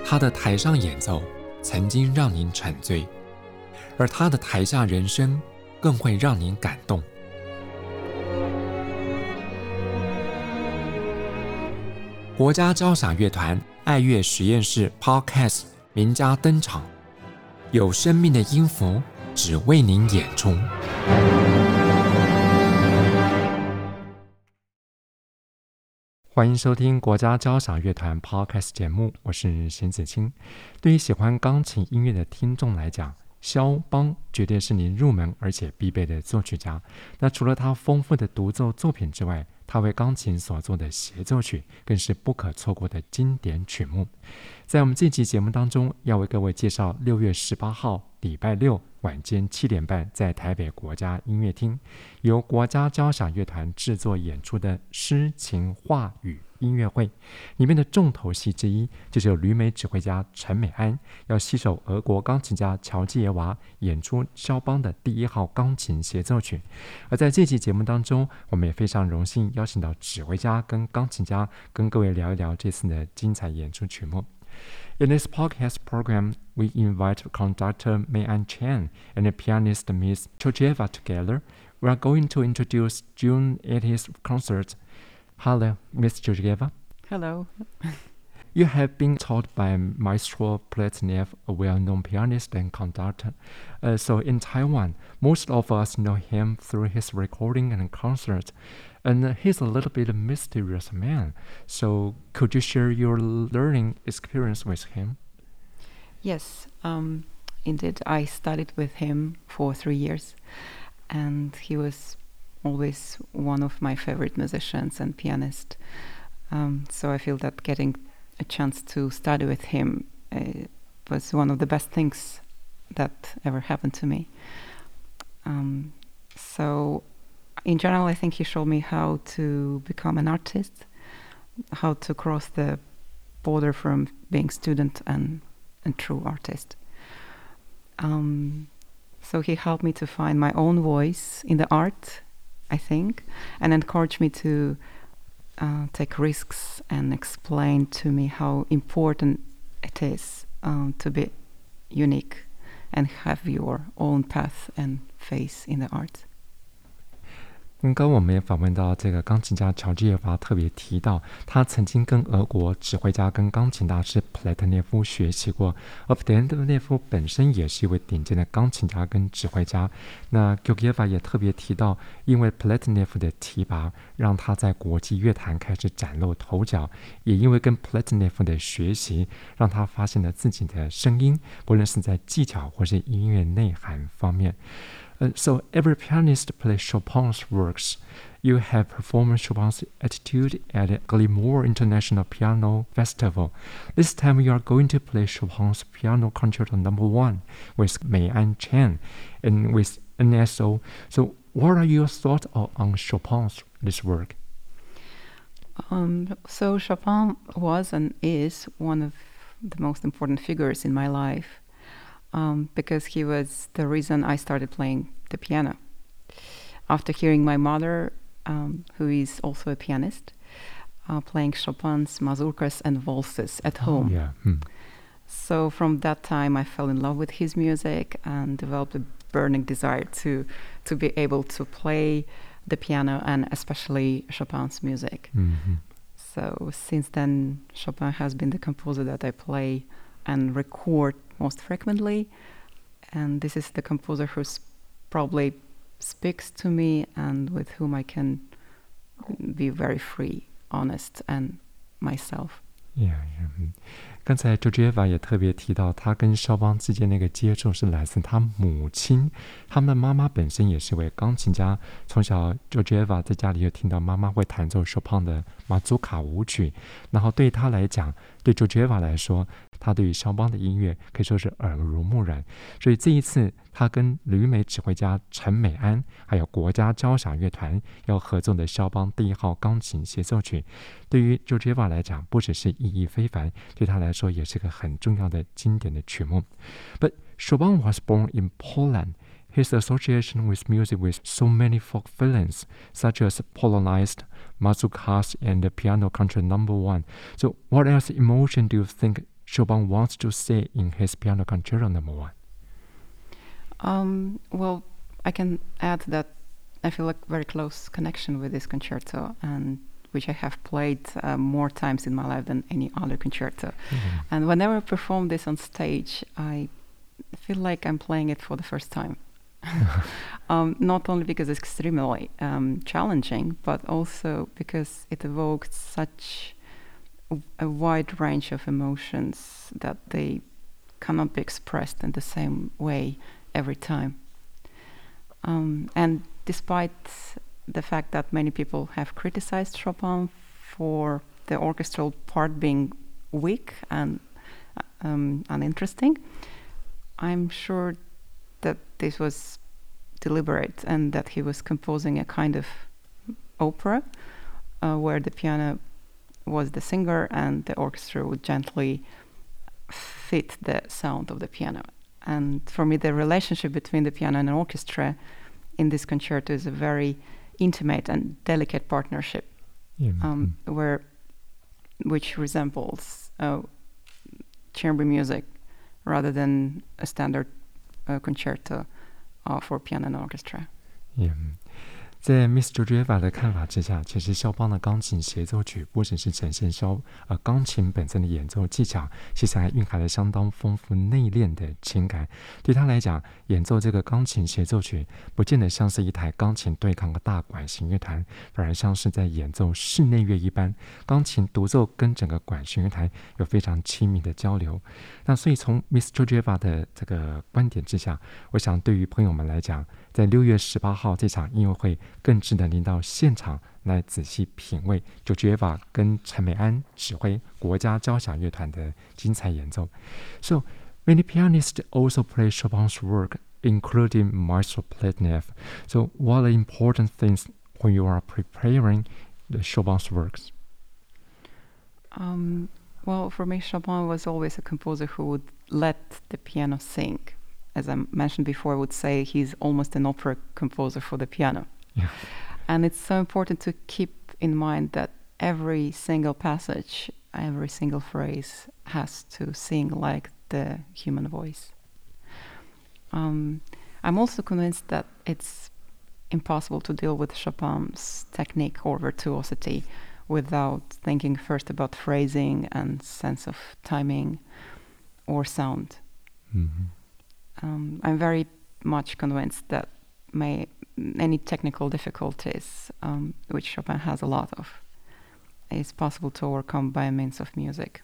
他的台上演奏曾經讓您沉醉，而他的台下人生更會讓您感動。國家交響樂團愛樂實驗室 Podcast 名家登場，有生命的音符只為您演出。歡迎收聽國家交響樂團 Podcast 節目，我是邢子清。對於喜歡鋼琴音樂的聽眾來講，肖邦絕對是您入門而且必備的作曲家。那除了他豐富的獨奏作品之外，他為鋼琴所做的協奏曲更是不可錯過的經典曲目。在我們這期節目當中，要為各位介紹6月18號禮拜六晚間7點半在台北國家音樂廳由國家交響樂團制作演出的詩情畫語音樂會，裡面的重頭戲之一就是由旅美指揮家陳美安要攜手俄國鋼琴家喬基耶娃演出肖邦的第1號鋼琴協奏曲。而在這期節目當中，我們也非常榮幸邀請到指揮家跟鋼琴家跟各位聊一聊這次的精彩演出曲目。In this podcast program, we invite conductor Mei-An Chen and the pianist Ms. Georgieva together. We are going to introduce June 80th concert. Hello, Ms. Georgieva. Hello. You have been taught by Maestro Pletnev, a well-known pianist and conductor. So in Taiwan, most of us know him through his recording and concerts. And he's a little bit a mysterious man. So could you share your learning experience with him? Yes, indeed, I studied with him for 3 years. And he was always one of my favorite musicians and pianists. So I feel that getting a chance to study with him was one of the best things that ever happened to me. So in general, I think he showed me how to become an artist, how to cross the border from being student and true artist. So he helped me to find my own voice in the art, I think, and encouraged me to take risks and explain to me how important it is to be unique and have your own path and face in the art. 刚剛我們也訪問到這個鋼琴家喬治耶娃，特別提到他曾經跟俄國指揮家跟鋼琴大師普列特涅夫學習過，而普列特涅夫本身也是一位頂尖的鋼琴家跟指揮家。那喬治耶娃也特別提到，因為普列特涅夫的提拔，讓他在國際樂壇開始嶄露頭角，也因為跟普列特涅夫的學習，讓他發現了自己的聲音，不論是在技巧或是音樂內涵方面。So every pianist plays Chopin's works. You have performed Chopin's Etude at the Glymour International Piano Festival. This time you are going to play Chopin's Piano Concerto No. 1 with Mei-An Chen and with NSO. So what are your thoughts on Chopin's this work? So Chopin was and is one of the most important figures in my life. Because he was the reason I started playing the piano. After hearing my mother, who is also a pianist, playing Chopin's mazurkas and waltzes at home. Yeah. So from that time I fell in love with his music and developed a burning desire to be able to play the piano and especially Chopin's music. Mm-hmm. So since then, Chopin has been the composer that I play and record most frequently, and this is the composer who probably speaks to me and with whom I can be very free, honest, and myself. Yeah. 剛才 Georgieva 也特別提到，他跟肖邦之間那個接觸是來自他母親，他們的媽媽本身也是位鋼琴家。從小 Georgieva 在家裡就聽到媽媽會彈奏 Chopin 的馬祖卡舞曲，然後對他來講，對 Georgieva 來說，他對於肖邦的音樂可以說是耳濡目染。所以這一次他跟旅美指揮家陳美安還有國家交響樂團要合作的肖邦第1號鋼琴協奏曲，對於 Georgieva 來講不只是意義非凡，對他來說也是個很重要的經典的曲目。But Chopin was born in Poland. His association with music with so many folk feelings, such as Polonized, mazurkas, and the Piano Concerto No. 1. So what else emotion do you think Chopin wants to say in his Piano Concerto No. 1? Well, I can add that I feel a very close connection with this concerto, and which I have played more times in my life than any other concerto. Mm-hmm. And whenever I perform this on stage, I feel like I'm playing it for the first time. Not only because it's extremely challenging, but also because it evoked such a wide range of emotions that they cannot be expressed in the same way every time. And despite the fact that many people have criticized Chopin for the orchestral part being weak and uninteresting, I'm sure that this was deliberate and that he was composing a kind of opera where the piano was the singer and the orchestra would gently fit the sound of the piano. And for me, the relationship between the piano and an orchestra in this concerto is a very intimate and delicate partnership, which resembles chamber music rather than a standard concerto for piano and orchestra. Yeah. 在 Miss Georgieva 的看法之下，其實肖邦的鋼琴協奏曲不只是呈現鋼琴本身的演奏技巧，其實還蘊含了相當豐富內斂的情感。對他來講，演奏這個鋼琴協奏曲不見得像是一台鋼琴對抗的大管弦樂團，反而像是在演奏室內樂一般，鋼琴獨奏跟整個管弦樂團有非常親密的交流。那所以從 Miss Georgieva 的這個觀點之下，我想對於朋友們來講，在6月18號這場音樂會更值得您到現場來仔細品味 Georgieva 跟陳美安指揮國家交響樂團的精彩演奏。So, many pianists also play Chopin's work, including Maestro Pletnev. So, what are important things when you are preparing the Chopin's works? Well, for me, Chopin was always a composer who would let the piano sing. As I mentioned before, I would say he's almost an opera composer for the piano. Yeah. And it's so important to keep in mind that every single passage, every single phrase has to sing like the human voice. I'm also convinced that it's impossible to deal with Chopin's technique or virtuosity without thinking first about phrasing and sense of timing or sound. Mm-hmm. I'm very much convinced that any technical difficulties, which Chopin has a lot of, is possible to overcome by means of music.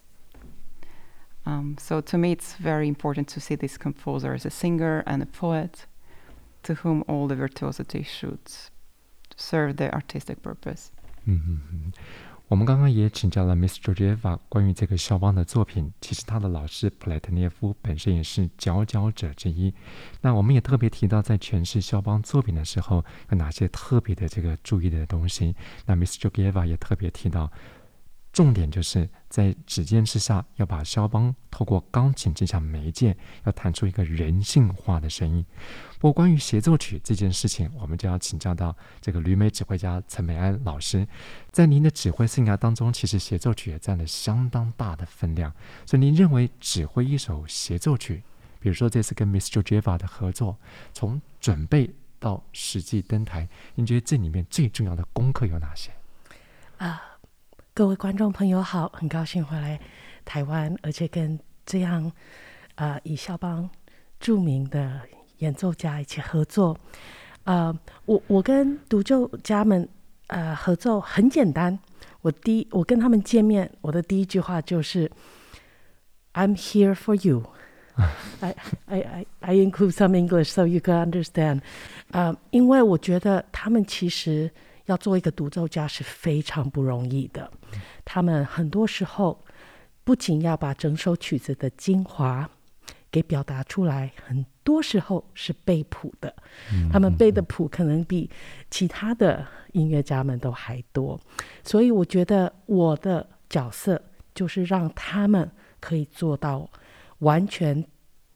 So to me, it's very important to see this composer as a singer and a poet to whom all the virtuosity should serve the artistic purpose. Mm-hmm. 我們剛剛也請教了 Miss Georgieva 關於這個肖邦的作品，其實他的老師普萊特涅夫本身也是佼佼者之一。那我們也特別提到，在詮釋肖邦作品的時候，有哪些特別的這個注意的東西。那 Miss Georgieva 也特別提到，重點就是在指尖之下，要把肖邦透過鋼琴這項媒介，要彈出一個人性化的聲音。不過關於協奏曲這件事情，我們就要請教到這個旅美指揮家陳美安老師。在您的指揮生涯當中，其實協奏曲也佔了相當大的分量。所以您認為指揮一首協奏曲，比如說這次跟 Miss Georgieva 的合作，從準備到實際登台，您覺得這裡面最重要的功課有哪些？ 各位觀眾朋友好，很高興回來台灣，而且跟這樣以肖邦著名的演奏家一起合作。我跟獨奏家們合作很簡單，我跟他們見面，我的第一句話就是 I'm here for you. I include some English so you can understand. 因為我覺得他們其實要做一個獨奏家是非常不容易的，他們很多時候不僅要把整首曲子的精華給表達出來，很多時候是背譜的，他們背的譜可能比其他的音樂家們都還多，所以我覺得我的角色就是讓他們可以做到完全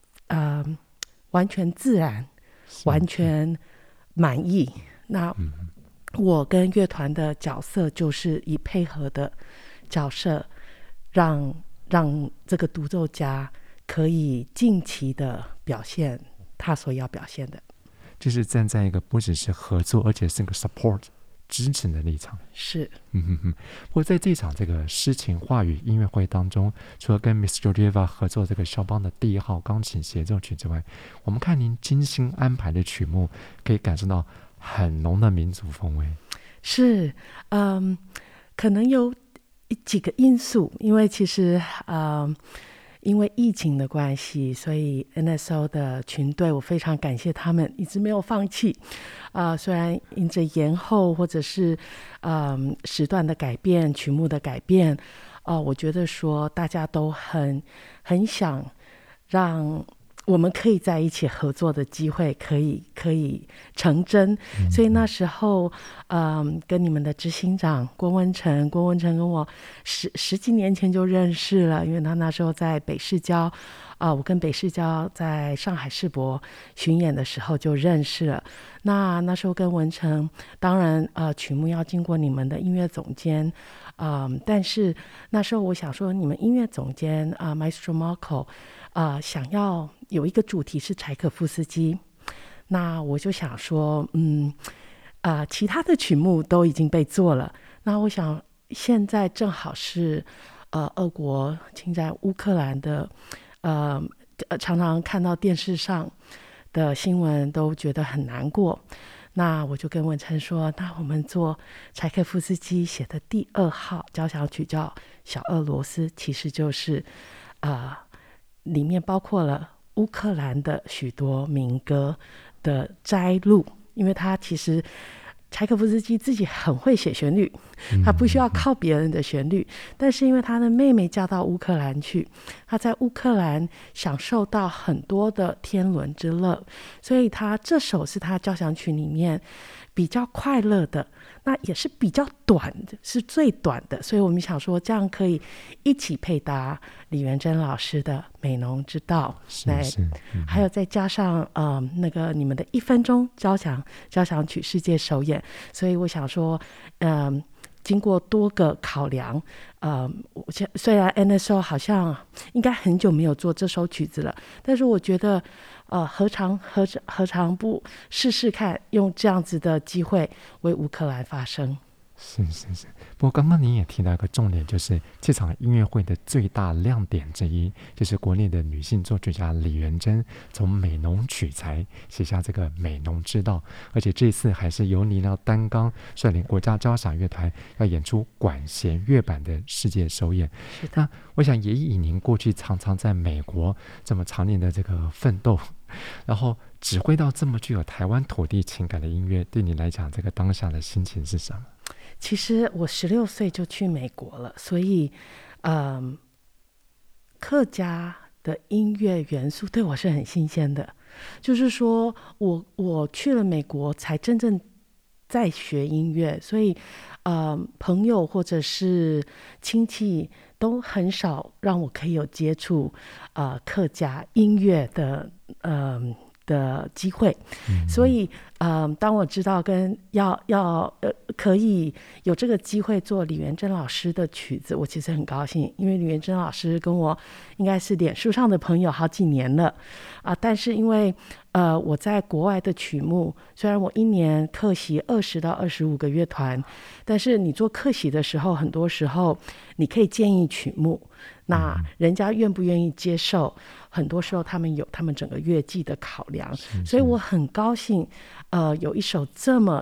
自然，完全滿意。那我跟樂團的角色就是以配合的角色，讓讓這個獨奏家可以盡期的表現他所要表現的， 就是站在一個不只是合作，而且是個 support 支持的立場。 是， 不過在這場這個詩情畫語音樂會當中，除了跟 Miss Georgieva 合作這個肖邦的第1號鋼琴協奏曲之外，我們看您精心安排的曲目，可以感受到很濃的民族風味。 是，可能有幾個因素，因為其實因為疫情的關係，所以 NSO 的群隊我非常感謝他們一直沒有放棄。雖然因着延後或者是時段的改變、曲目的改變，我覺得說大家都很想讓我們可以在一起合作的機會可以成真。所以那時候跟你們的執行長郭文成跟我十幾年前就認識了，因為他那時候在北市交我跟北市交在上海世博巡演的時候就認識了。那時候跟文成，當然曲目要經過你們的音樂總監，但是那時候我想說，你們音樂總監Maestro Marco想要有一個主題是柴可夫斯基，那我就想說其他的曲目都已經被做了，那我想現在正好是俄國侵占烏克蘭的常常看到電視上的新聞都覺得很難過，那我就跟文成說，那我們做柴可夫斯基寫的第2號交響曲叫小俄羅斯，其實就是裡面包括了烏克蘭的許多民歌的摘錄，因為他其實柴可夫斯基自己很會寫旋律，他不需要靠別人的旋律，但是因為他的妹妹嫁到烏克蘭去，他在烏克蘭享受到很多的天倫之樂，所以他這首是他交響曲裡面比較快樂的，那也是比較短的，是最短的，所以我們想說這樣可以一起配搭李元珍老師的美濃之道，還有再加上那個你們的1分鐘交響曲世界首演，所以我想說經過多個考量，雖然 NSO 好像應該很久沒有做這首曲子了，但是我覺得何嘗不試試看，用這樣子的機會為烏克蘭發聲。 是。不過剛剛您也提到一個重點，就是這場音樂會的最大亮點之一，就是國內的女性作曲家李元珍從美濃取材，寫下這個美濃之道，而且這次還是由您要擔綱率領國家交響樂團要演出管弦樂版的世界首演。那我想也以您過去常常在美國這麼常年的這個奮鬥，然後指揮到這麼具有台灣土地情感的音樂，對你來講這個當下的心情是什麼？ 其實我16歲就去美國了，所以客家的音樂元素對我是很新鮮的，就是說我去了美國才真正在學音樂，所以朋友或者是親戚都很少讓我可以有接觸客家音樂的機會，所以當我知道可以有這個機會做李元珍老師的曲子，我其實很高興，因為李元珍老師跟我應該是臉書上的朋友好幾年了但是因為我在國外的曲目，雖然我一年客席20到25個樂團，但是你做客席的時候，很多時候你可以建議曲目，那人家願不願意接受，很多時候他們有他們整個樂季的考量，所以我很高興有一首這麼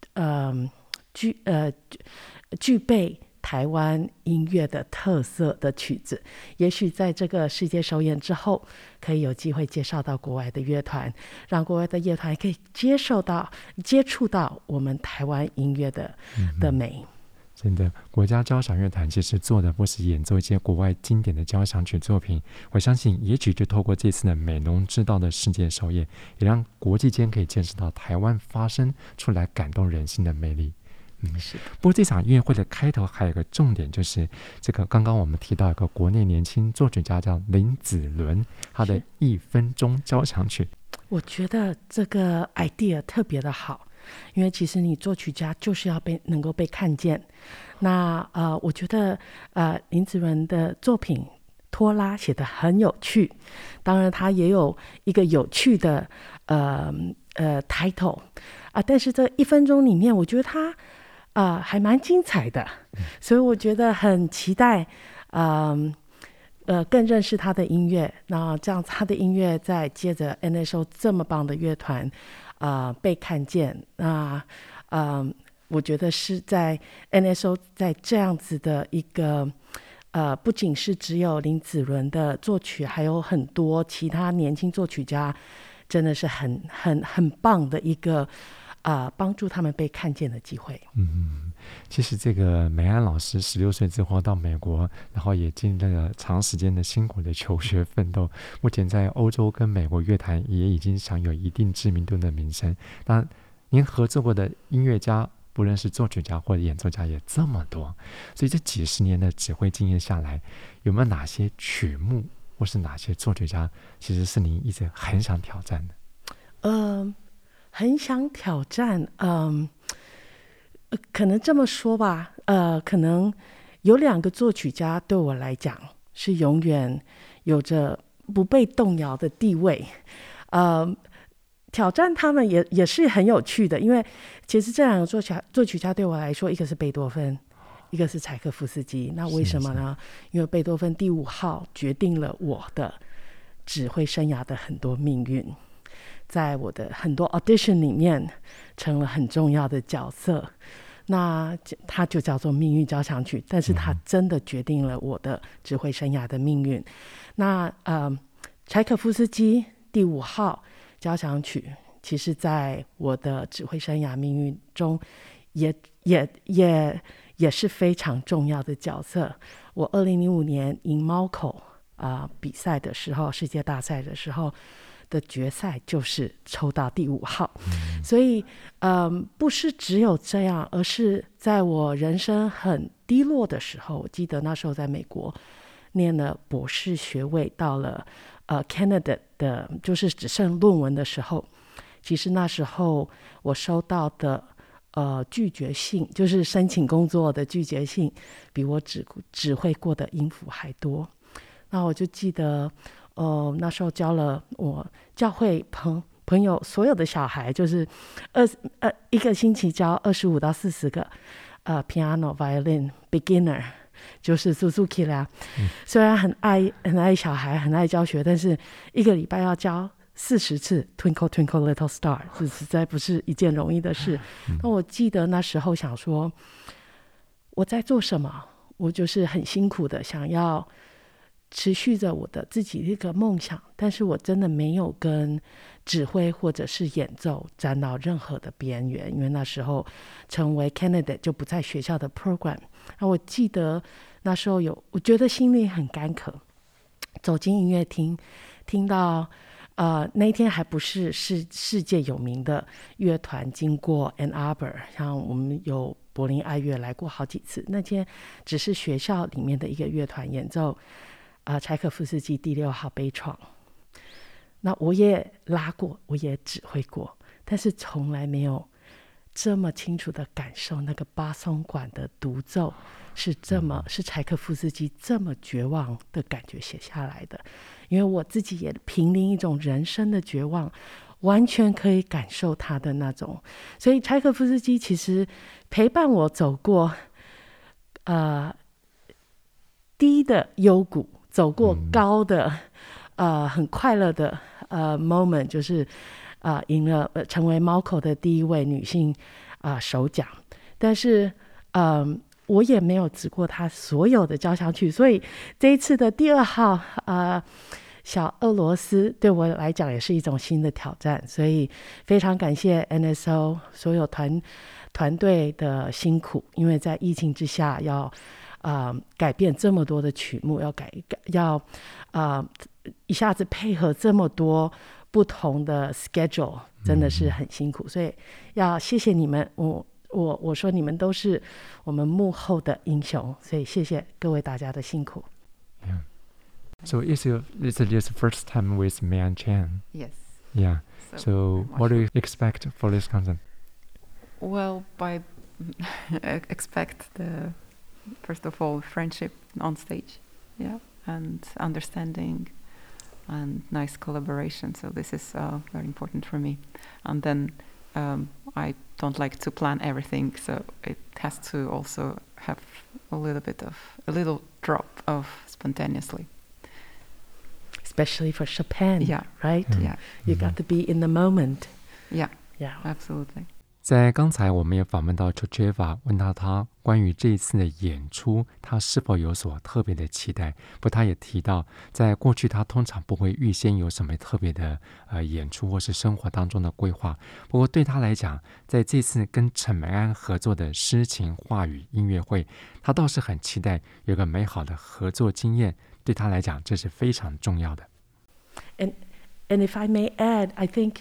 具備台灣音樂的特色的曲子，也許在這個世界首演之後，可以有機會介紹到國外的樂團，讓國外的樂團可以接觸到我們台灣音樂的美。 真的，國家交響樂團其實做的不是演奏一些國外經典的交響曲作品，我相信也許就透過這次的美濃之道的世界首演，也讓國際間可以見識到台灣發聲出來感動人心的魅力。不過這場音樂會的開頭還有一個重點，就是這個剛剛我們提到一個國內年輕作曲家叫林子倫，他的1分鐘交響曲。 我覺得這個 idea 特別的好，因為其實你作曲家就是要能夠被看見。那我覺得林子倫的作品拖拉寫得很有趣，當然它也有一個有趣的title 但是這1分鐘裡面，我覺得它還蠻精彩的，所以我覺得很期待更認識他的音樂，那這樣他的音樂再接着 NSO 這麼棒的樂團被看見，那我覺得是在 NSO 在這樣子的一個不僅是只有林子倫的作曲，還有很多其他年輕作曲家，真的是很棒的一個幫助他們被看見的機會。 其實這個美安老師16歲之後到美國，然後也經歷了長時間的辛苦的求學奮鬥，目前在歐洲跟美國樂壇也已經享有一定知名度的名聲。當然您合作過的音樂家，不論是作曲家或者演奏家也這麼多，所以這幾十年的指揮經驗下來，有沒有哪些曲目或是哪些作曲家其實是您一直很想挑戰的？ 很想挑戰可能這麼說吧，可能有2個作曲家對我來講是永遠有着不被動搖的地位，挑戰他們也是很有趣的，因為其實這2個作曲家對我來說，一個是貝多芬，一個是柴可夫斯基。那為什麼呢？因為貝多芬第5號決定了我的指揮生涯的很多命運，在我的很多 audition 裡面成了很重要的角色，那它就叫做命運交響曲，但是它真的決定了我的指揮生涯的命運。那柴可夫斯基第5號交響曲，其實在我的指揮生涯命運中也是非常重要的角色。我2005年贏貓口比賽的時候，世界大賽的時候的決賽就是抽到第5號，所以不是只有這樣，而是在我人生很低落的時候，我記得那時候在美國念了博士學位，到了candidate 的就是只剩論文的時候，其實那時候我收到的拒絕信，就是申請工作的拒絕信，比我指揮過的音符還多。那我就記得那時候教了我教會朋友所有的小孩，就是一個星期教25到40個piano violin beginner， 就是 Suzuki 啦。雖然很愛小孩，很愛教學，但是一個禮拜要教40次 Twinkle Twinkle Little Star， 這實在不是一件容易的事。那我記得那時候想說我在做什麼，我就是很辛苦的想要持續着我的自己一個夢想，但是我真的沒有跟指揮或者是演奏沾到任何的邊緣，因為那時候成為 candidate 就不在學校的 program。 那我記得那時候我覺得心裡很乾渴，走進音樂廳，聽到那一天還不是世界有名的樂團經過 Ann Arbor， 像我們有柏林愛樂來過好幾次，那天只是學校裡面的一個樂團演奏柴可夫斯基第6號悲愴。那我也拉過，我也指揮過，但是從來沒有這麼清楚的感受那個巴松管的獨奏是柴可夫斯基這麼絕望的感覺寫下來的。因為我自己也瀕臨一種人生的絕望，完全可以感受他的那種。所以柴可夫斯基其實陪伴我走過低的幽谷，走過高的很快樂的moment， 就是贏了成為貓口的第1位女性首獎。但是我也沒有指過他所有的交響曲，所以這一次的第2號小俄羅斯對我來講也是一種新的挑戰，所以非常感謝 NSO 所有團隊的辛苦，因為在疫情之下要改變這麼多的曲目，要一下子配合這麼多不同的 schedule， 真的是很辛苦，所以要謝謝你們。我說你們都是我們幕後的英雄，所以謝謝各位大家的辛苦。 Yeah. So it's your first time with Meian Chen. Yes. Yeah. So what do you expect for this concert? Well, I expect first of all, friendship on stage. Yeah. and understanding and nice collaboration. So this is very important for me. And then I don't like to plan everything, so it has to also have a little drop of spontaneously. Especially for Chopin, Yeah. right? Yeah. You got to be in the moment. Yeah, Yeah. absolutely. 在刚才我们也訪問到 Georgieva， 問到他關於這一次的演出，他是否有所特別的期待。不過他也提到，在過去他通常不會預先有什麼特別的演出或是生活當中的規劃。不過對他來講，在這次跟陳美安合作的詩情話語音樂會，他倒是很期待有個美好的合作經驗。對他來講，這是非常重要的。 And if I may add, I think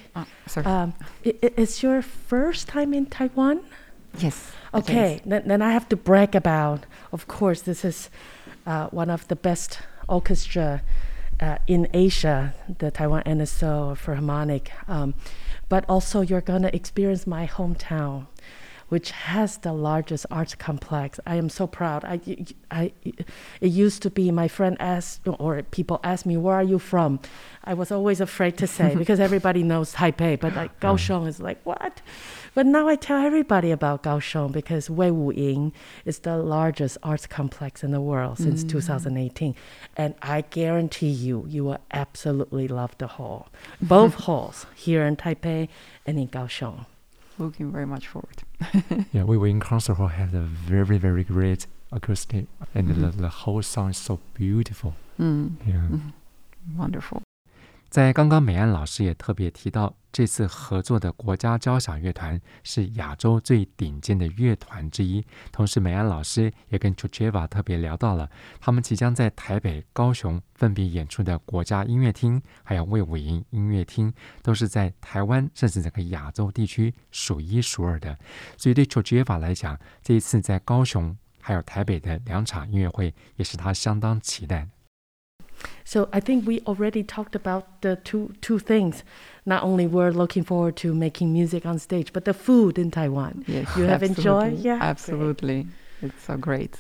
it's your first time in Taiwan? Yes. Okay, then I have to brag about, of course, this is one of the best orchestra in Asia, the Taiwan NSO Philharmonic. But also you're going to experience my hometown, which has the largest arts complex. I am so proud. It used to be my friend asked, or people ask me, where are you from? I was always afraid to say because everybody knows Taipei, but like Kaohsiung is like, what? But now I tell everybody about Kaohsiung because Wei Wu Ying is the largest arts complex in the world since 2018. And I guarantee you will absolutely love the hall. Both halls here in Taipei and in Kaohsiung. Looking very much forward. Yeah, we were in concert hall had a very, very great acoustic, and the whole song is so beautiful. Yeah. Wonderful. 在刚刚美安老師也特別提到，這次合作的國家交響樂團是亞洲最頂尖的樂團之一。同時，美安老師也跟 Georgieva 特別聊到了他們即將在台北、高雄分別演出的國家音樂廳，還有衛武營音樂廳，都是在台灣甚至整個亞洲地區數一數二的。所以對 Georgieva 來講，這一次在高雄還有台北的兩場音樂會，也是他相當期待的。 So I think we already talked about the two things. Not only we're looking forward to making music on stage, but the food in Taiwan. Yes, you have enjoyed? Yeah, absolutely. Great. It's so great.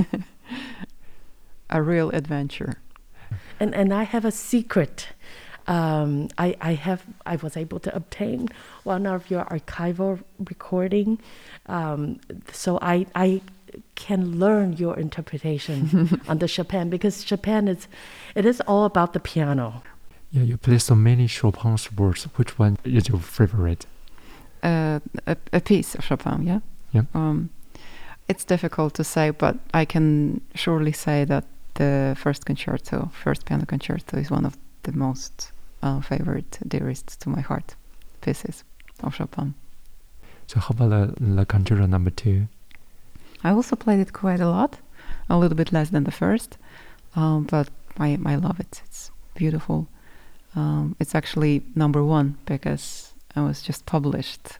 A real adventure. And I have a secret. I was able to obtain one of your archival recording. So I can learn your interpretation on the Chopin because Chopin it is all about the piano. Yeah, you play so many Chopin's works. Which one is your favorite? A piece of Chopin, yeah? Yeah. It's difficult to say, but I can surely say that the first piano concerto is one of the most favorite, dearest to my heart pieces of Chopin. So how about the concerto number 2? I also played it quite a lot, a little bit less than the first, but I love it. It's beautiful. It's actually number 1 because it was just published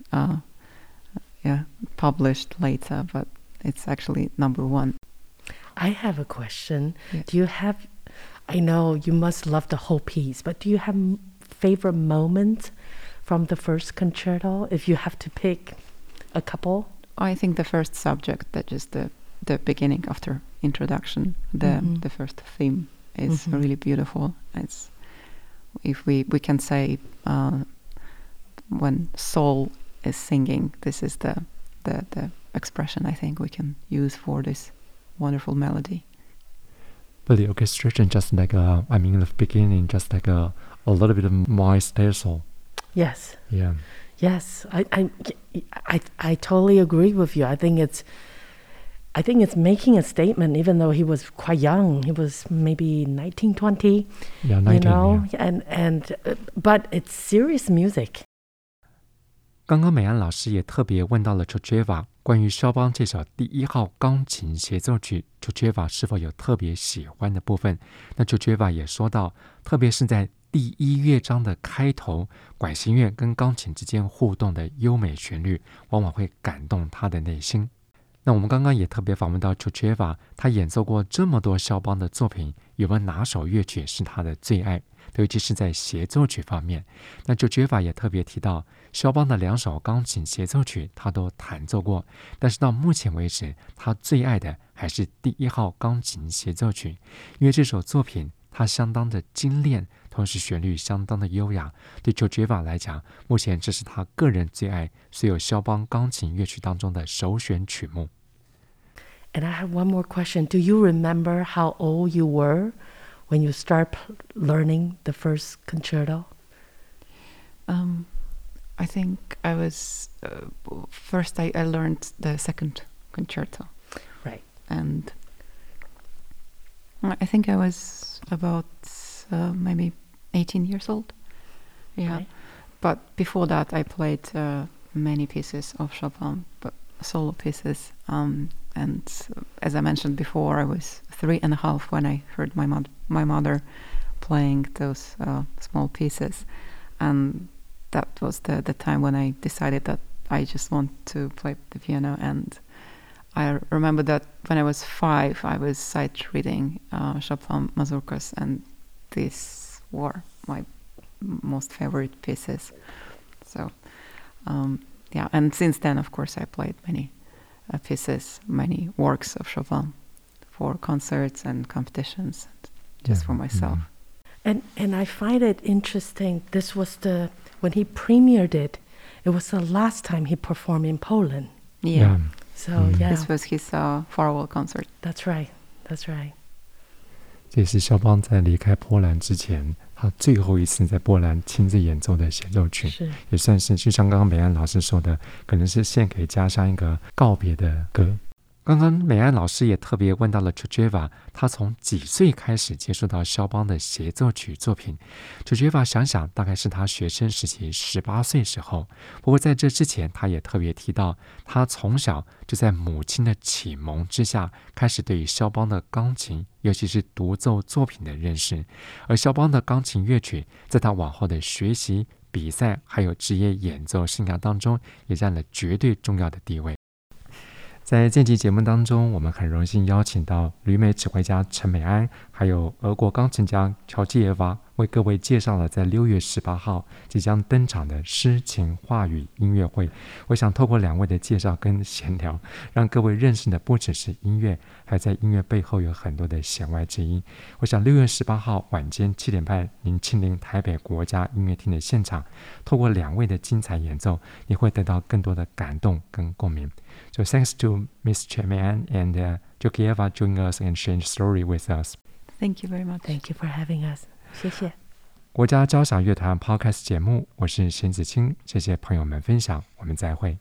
later, but it's actually number 1. I have a question. Yes. Do you have, I know you must love the whole piece, but do you have favorite moments from the first concerto if you have to pick a couple? I think the first subject, that is the beginning after introduction, the first theme is really beautiful. It's, if we can say, when soul is singing, this is the expression I think we can use for this wonderful melody. But the orchestration just like in the beginning, just like a little bit of maestro. Yes. Yeah. Yes, I totally agree with you. I think it's making a statement, even though he was quite young. He was maybe 19, 20. Yeah, 19. You know, yeah. But it's serious music. 刚刚美安老師也特別問到了 Georgieva 關於肖邦這首第1號鋼琴協奏曲 Georgieva 是否有特別喜歡的部分。那 Georgieva 也說到，特別是在第1樂章的開頭，管弦樂跟鋼琴之間互動的優美旋律，往往會感動他的內心。那我們剛剛也特別訪問到 Georgieva，他演奏過這麼多肖邦的作品， 有沒有哪首樂曲是他的最愛，尤其是在協奏曲方面。那 Georgieva 也特別提到，肖邦的2首鋼琴協奏曲他都彈奏過，但是到目前為止，他最愛的還是第1號鋼琴協奏曲，因為這首作品它相當的精煉，同時旋律相當的優雅。對 Georgieva 來講，目前這是他個人最愛所有肖邦鋼琴樂曲當中的首選曲目。 And I have one more question. Do you remember how old you were when you start learning the first concerto? I think I was first. I learned the second concerto, Right. and I think I was about maybe 18 years old. Yeah, Right. but before that, I played many pieces of Chopin, but solo pieces. And as I mentioned before, I was 3.5 when I heard my mother playing those small pieces, and that was the time when I decided that I just want to play the piano. And I remember that when I was 5, I was sight reading Chopin mazurkas, and these were my most favorite pieces. So yeah, and since then, of course, I played many pieces, many works of Chopin for concerts and competitions, just for myself. And I find it interesting. This was when he premiered it, it was the last time he performed in Poland. Yeah. So yeah, This was his farewell concert. That's right. That's right. 这也是肖邦在離開波蘭之前，他最後一次在波蘭親自演奏的協奏曲，也算是就像剛剛美安老師說的，可能是獻給家鄉一個告別的歌。剛剛美安老師也特別問到了 Georgieva， 他從幾歲開始接觸到肖邦的協奏曲作品。Georgieva 想想大概是他學生時期18歲時候，不過在這之前他也特別提到，他從小就在母親的啟蒙之下開始對於肖邦的鋼琴，尤其是獨奏作品的認識，而肖邦的鋼琴樂曲在他往後的學習、比賽還有職業演奏生涯當中也佔了絕對重要的地位。在這期節目當中，我們很榮幸邀請到旅美指揮家陳美安，還有俄國鋼琴家喬基耶娃，為各位介紹了在6月18號即將登場的詩情畫語音樂會。我想透過2位的介紹跟閒聊，讓各位認識的不只是音樂，還在音樂背後有很多的弦外之音。我想6月18號晚間7點半，您親臨台北國家音樂廳的現場，透過2位的精彩演奏，你會得到更多的感動跟共鳴。So thanks to Ms. Chemean and Georgieva joining us and sharing the story with us. Thank you very much. Thank you for having us. 謝謝。 國家交響樂團 Podcast 節目，我是邢子清，謝謝朋友們分享，我們再會。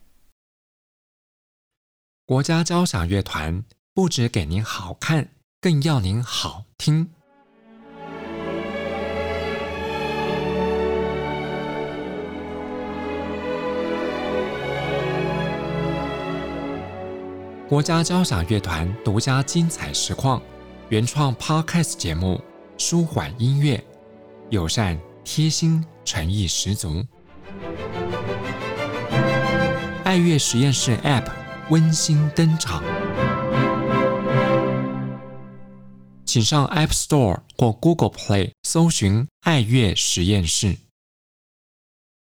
國家交響樂團不只給您好看，更要您好聽。國家交響樂團獨家精彩實況，原創 Podcast 節目，舒緩音樂，友善貼心，誠意十足。愛樂實驗室 App 溫馨登場，請上 App Store 或 Google Play 搜尋愛樂實驗室。